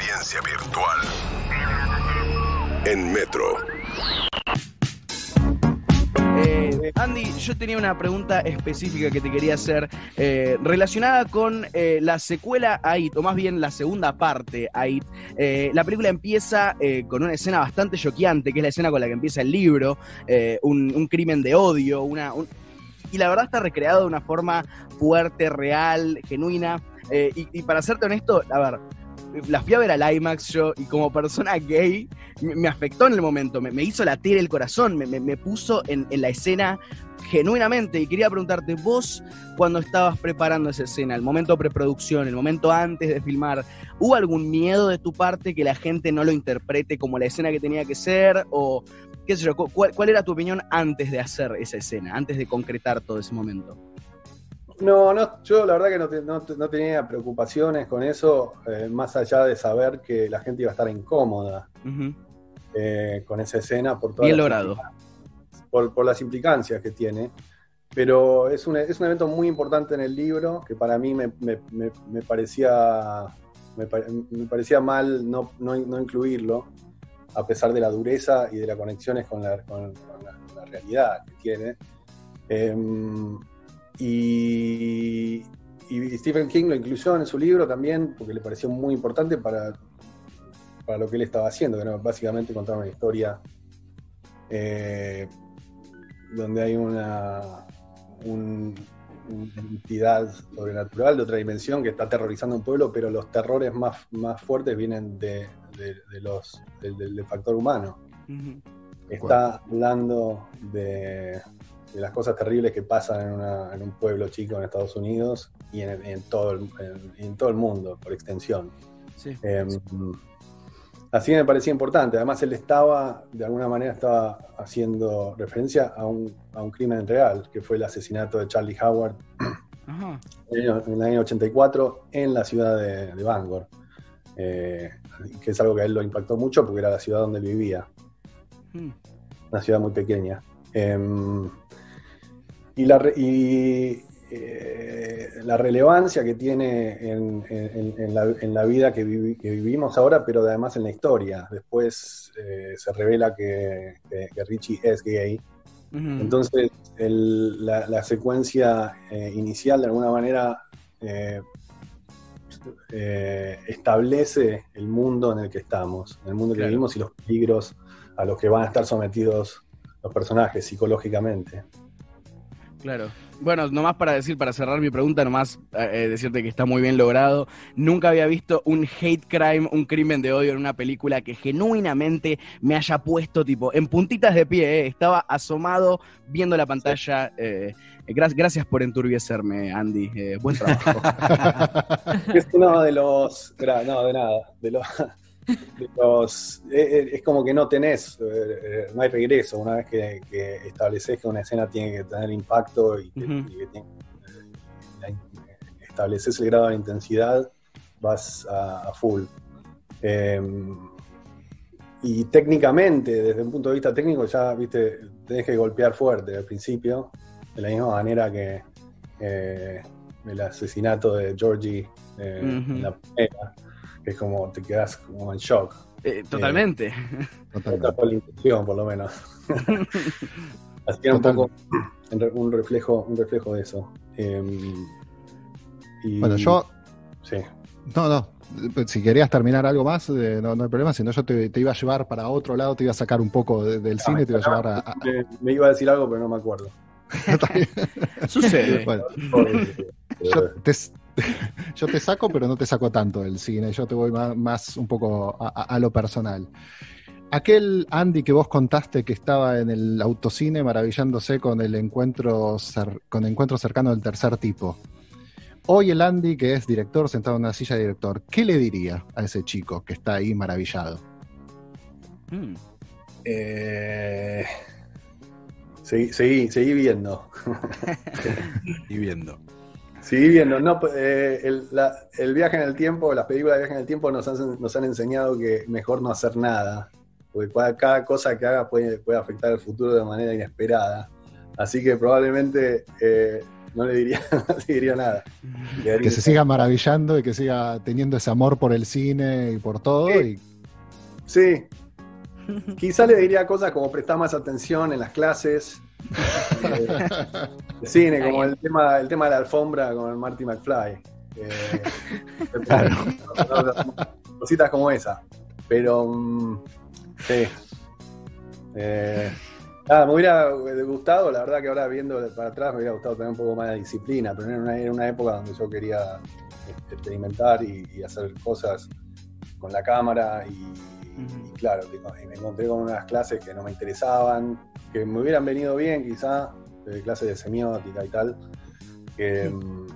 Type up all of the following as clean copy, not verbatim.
experiencia virtual en Metro. Andy, yo tenía una pregunta específica que te quería hacer relacionada con la secuela a It, o más bien la segunda parte a It. La película empieza con una escena bastante choqueante, que es la escena con la que empieza el libro, un crimen de odio, y la verdad está recreado de una forma fuerte, real, genuina, y para serte honesto, a ver, la fui a ver al IMAX yo, y como persona gay me afectó en el momento, me hizo latir el corazón, me puso en la escena genuinamente. Y quería preguntarte, vos cuando estabas preparando esa escena, el momento preproducción, el momento antes de filmar, ¿hubo algún miedo de tu parte que la gente no lo interprete como la escena que tenía que ser? O qué sé yo, ¿cuál era tu opinión antes de hacer esa escena, antes de concretar todo ese momento? No, yo la verdad que no tenía preocupaciones con eso, más allá de saber que la gente iba a estar incómoda con esa escena por todas bien logrado. Por las implicancias que tiene. Pero es un evento muy importante en el libro que para mí me parecía mal no incluirlo, a pesar de la dureza y de las conexiones con la realidad que tiene. Y Stephen King lo incluyó en su libro también porque le pareció muy importante para lo que él estaba haciendo, que era básicamente contar una historia donde hay una entidad sobrenatural de otra dimensión que está aterrorizando a un pueblo, pero los terrores más fuertes vienen del factor humano. Uh-huh. Está hablando de las cosas terribles que pasan en un pueblo chico en Estados Unidos y en todo el mundo, por extensión. Sí. Así me parecía importante. Además, él de alguna manera estaba haciendo referencia a un crimen real, que fue el asesinato de Charlie Howard en el año 84 en la ciudad de Bangor, que es algo que a él lo impactó mucho porque era la ciudad donde él vivía. Una ciudad muy pequeña. Y la relevancia que tiene en la vida que vivimos ahora, pero además en la historia. Después se revela que Richie es gay. Uh-huh. Entonces la secuencia inicial de alguna manera establece el mundo en el que estamos, en el mundo que vivimos y los peligros a los que van a estar sometidos los personajes psicológicamente. Claro. Bueno, nomás para cerrar mi pregunta, nomás decirte que está muy bien logrado. Nunca había visto un hate crime, un crimen de odio en una película que genuinamente me haya puesto tipo en puntitas de pie. Estaba asomado viendo la pantalla. Gracias por enturbiecerme, Andy. Buen trabajo. Es uno de los... No, de nada. Es como que no hay regreso una vez que estableces que una escena tiene que tener impacto y que estableces el grado de intensidad, vas a full. Y técnicamente, desde un punto de vista técnico, ya viste, tenés que golpear fuerte al principio, de la misma manera que el asesinato de Georgie en la primera. Es como te quedas como en shock. Totalmente. Por la intención, por lo menos. Así que era un poco un reflejo de eso. Bueno, yo... Sí. No. Si querías terminar algo más, no hay problema. Si no, yo te iba a llevar para otro lado, te iba a sacar un poco del cine, te iba a llevar a... Me iba a decir algo, pero no me acuerdo. Sucede. Bueno. Yo te saco, pero no te saco tanto del cine. Yo te voy más un poco a lo personal. Aquel Andy que vos contaste que estaba en el autocine maravillándose con el encuentro cercano del tercer tipo. Hoy el Andy, que es director, sentado en una silla de director, ¿qué le diría a ese chico que está ahí maravillado? Seguí viendo. Seguí viendo. No, el viaje en el tiempo, las películas de viaje en el tiempo nos han enseñado que mejor no hacer nada, porque cada cosa que hagas puede afectar el futuro de manera inesperada. Así que probablemente no le diría, no le diría nada. Que se siga maravillando y que siga teniendo ese amor por el cine y por todo. Sí. Quizá le diría cosas como prestar más atención en las clases de cine, como el tema de la alfombra con el Marty McFly. Claro. Cositas como esa. Pero sí. Me hubiera gustado, la verdad que ahora viendo para atrás me hubiera gustado tener un poco más de disciplina, pero era una época donde yo quería experimentar y hacer cosas con la cámara y claro, me encontré con unas clases que no me interesaban, que me hubieran venido bien quizá, clases de semiótica y tal, que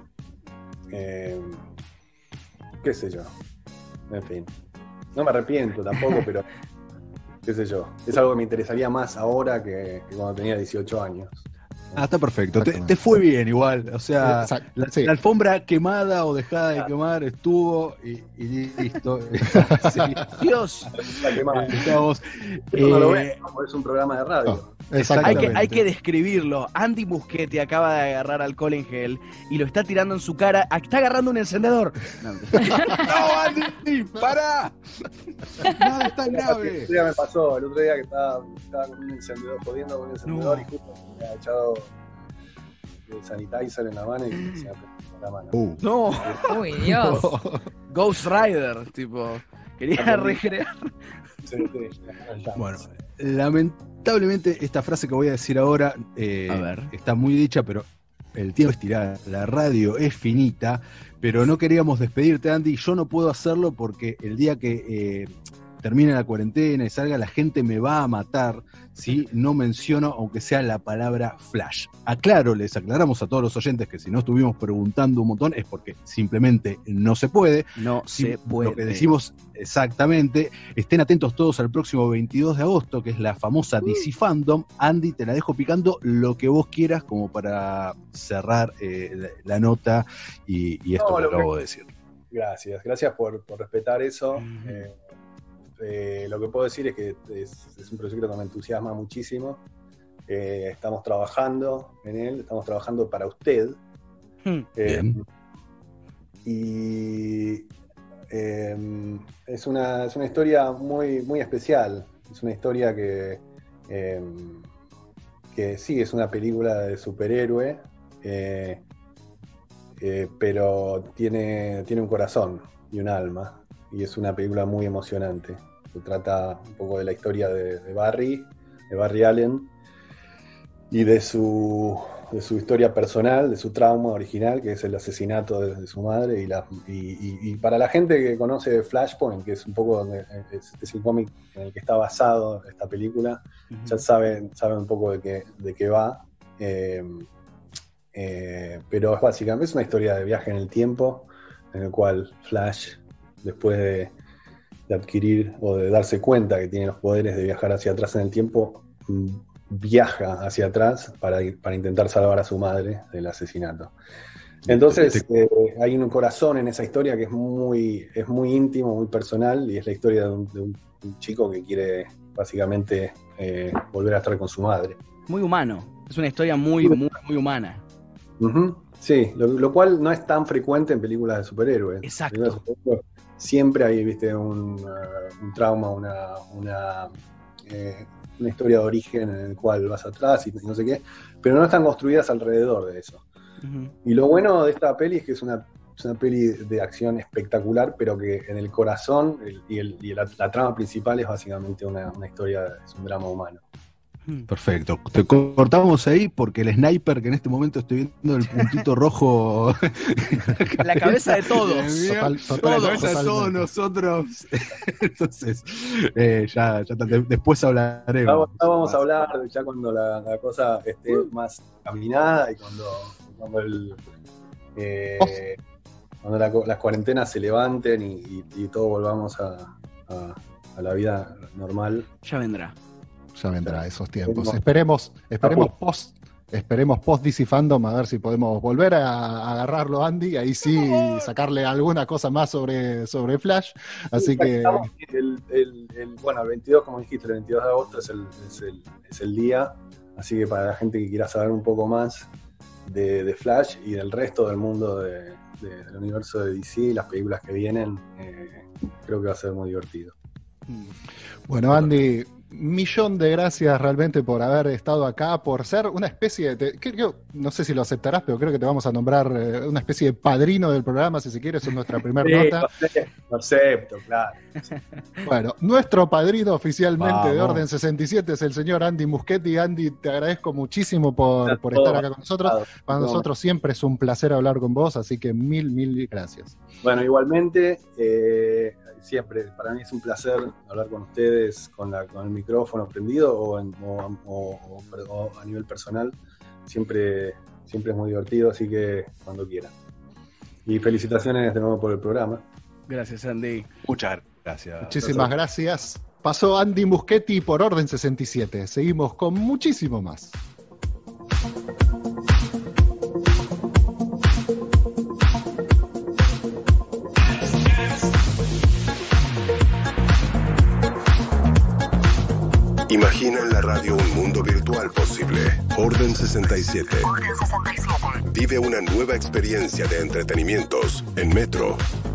qué sé yo, en fin, no me arrepiento tampoco, pero qué sé yo, es algo que me interesaría más ahora que cuando tenía 18 años. Está perfecto, te fue bien igual, o sea, la alfombra quemada o dejada de quemar estuvo y listo. Sí. Dios. No lo ven, es un programa de radio. Hay que describirlo. Andy Muschietti acaba de agarrar alcohol en gel y lo está tirando en su cara. Está agarrando un encendedor. No, Andy, pará. Nada es tan grave. El otro día me pasó, el otro día que estaba con un encendedor, jodiendo con un encendedor y justo me había echado el sanitizer en la mano y se me prendió la mano. No. Uy, Dios. Ghost Rider, tipo. Quería recrear. Sí. Bueno, lamentablemente esta frase que voy a decir ahora está muy dicha, pero el tiempo es tirado, la radio es finita, pero no queríamos despedirte, Andy. Yo no puedo hacerlo porque el día que termine la cuarentena y salga, la gente me va a matar si no menciono, aunque sea la palabra Flash. Les aclaramos a todos los oyentes que si no estuvimos preguntando un montón es porque simplemente no se puede. Se puede. Lo que decimos exactamente, estén atentos todos al próximo 22 de agosto, que es la famosa DC Fandom. Andy, te la dejo picando lo que vos quieras como para cerrar la nota y esto que acabo de decir. Gracias por respetar eso. Lo que puedo decir es que es un proyecto que me entusiasma muchísimo. Estamos trabajando en él, estamos trabajando para usted. Bien. Y es una historia muy, muy especial. Es una historia que sí, es una película de superhéroe, pero tiene un corazón y un alma. Y es una película muy emocionante. Se trata un poco de la historia de Barry Allen, y de su historia personal, de su trauma original, que es el asesinato de su madre. Y para la gente que conoce Flashpoint, que es un poco donde es el cómic en el que está basado esta película, ya saben un poco de qué va. Pero básicamente es una historia de viaje en el tiempo, en el cual Flash, después de adquirir o de darse cuenta que tiene los poderes de viajar hacia atrás en el tiempo, viaja hacia atrás para intentar salvar a su madre del asesinato. Entonces hay un corazón en esa historia que es muy íntimo, muy personal, y es la historia de un chico que quiere básicamente volver a estar con su madre. Muy humano, es una historia muy humana. Sí, lo cual no es tan frecuente en películas de superhéroes. Exacto. Siempre hay, un trauma, una historia de origen en el cual vas atrás y no sé qué, pero no están construidas alrededor de eso. Y lo bueno de esta peli es que es una peli de acción espectacular, pero que en el corazón la trama principal es básicamente una historia, es un drama humano. Perfecto. Te cortamos ahí porque el sniper, que en este momento estoy viendo el puntito rojo. La cabeza de todos. La cabeza de todos nosotros. Entonces, ya después hablaremos. Vamos a hablar ya cuando la cosa esté más caminada y cuando las cuarentenas se levanten y todos volvamos a la vida normal. Ya vendrá esos tiempos. Esperemos post DC Fandom a ver si podemos volver a agarrarlo, Andy, ahí sí sacarle alguna cosa más sobre Flash. Así que el 22, como dijiste, el 22 de agosto es el día, así que para la gente que quiera saber un poco más de Flash y del resto del mundo del universo de DC, las películas que vienen, creo que va a ser muy divertido. Bueno, Andy, millón de gracias realmente por haber estado acá, por ser una especie de, no sé si lo aceptarás, pero creo que te vamos a nombrar una especie de padrino del programa, si se quiere, es nuestra primera nota. Lo acepto, claro. Bueno, nuestro padrino oficialmente de Orden 67 es el señor Andy Muschietti. Andy, te agradezco muchísimo por estar acá con nosotros. Para nosotros siempre es un placer hablar con vos, así que mil gracias. Bueno, igualmente, siempre, para mí es un placer hablar con ustedes con el micrófono prendido o a nivel personal. Siempre es muy divertido, así que cuando quieran. Y felicitaciones de nuevo por el programa. Gracias, Andy. Muchas gracias. Muchísimas gracias. Pasó Andy Muschietti por Orden 67. Seguimos con muchísimo más. Imagina en la radio un mundo virtual posible. Orden 67. Vive una nueva experiencia de entretenimientos en Metro.